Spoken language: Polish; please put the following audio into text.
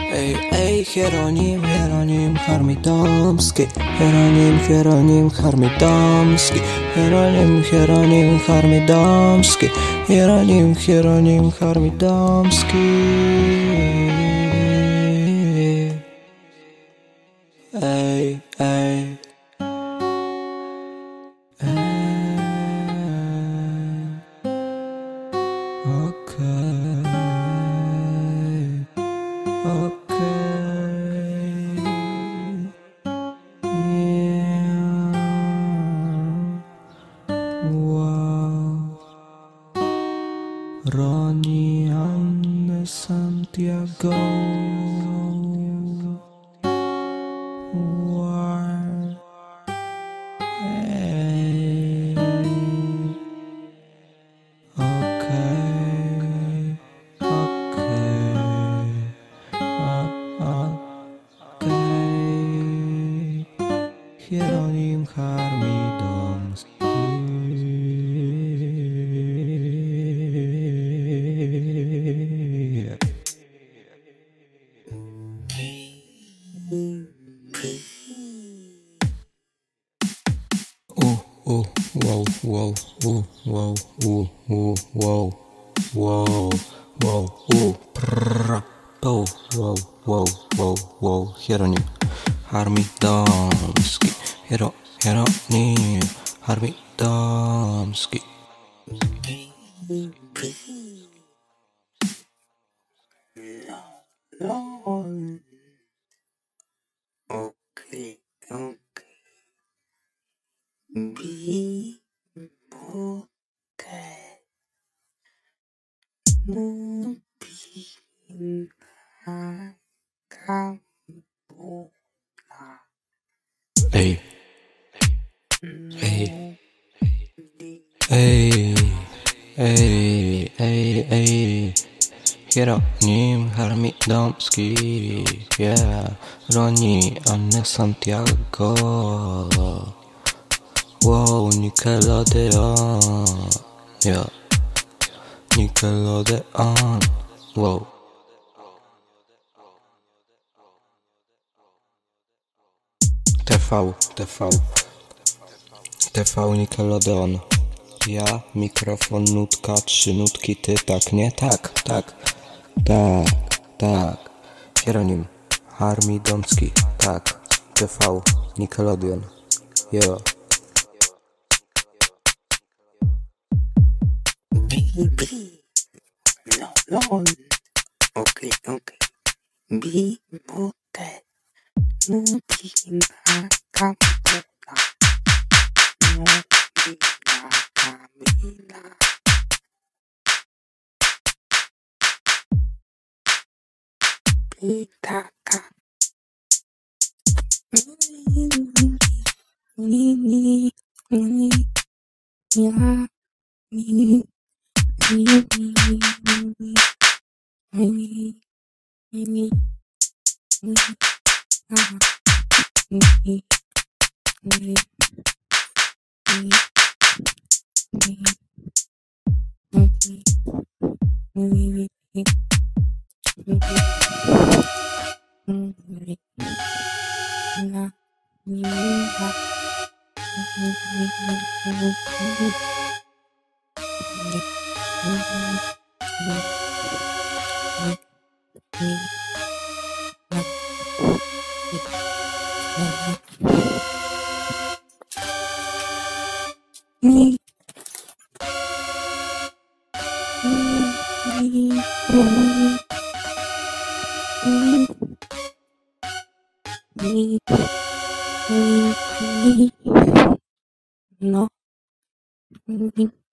Ej, ej, Hieronim, Hieronim Harmidomski, Hieronim, Hieronim Harmidomski, Hieronim, Hieronim Harmidomski, Hieronim, Hieronim Harmidomski. Ej, ej, okej, okej, yeah, wow. Ronnie Anne Santiago, wow. Hey. Okay, okay, okay. Hieronim Harmidomski. Wow, wow, wow, wow, wow, wow, prrra, wow, wow, Hieronim Harmidomski, Hieronim Harmidomski. Okay, okay. Be okay. Ey, ey, ey, ey, ey, Hieronim Harmidomski, yeah, Ronnie Anne Santiago, wow, Nickelodeon, yeah, Nickelodeon, wow. TV Nickelodeon. Ja, mikrofon, nutka, 3 nutki, ty, tak, nie? Tak. Hieronim Harmidomski, tak. TV Nickelodeon. Yeah. Baby, no, okay, be okay. No, no.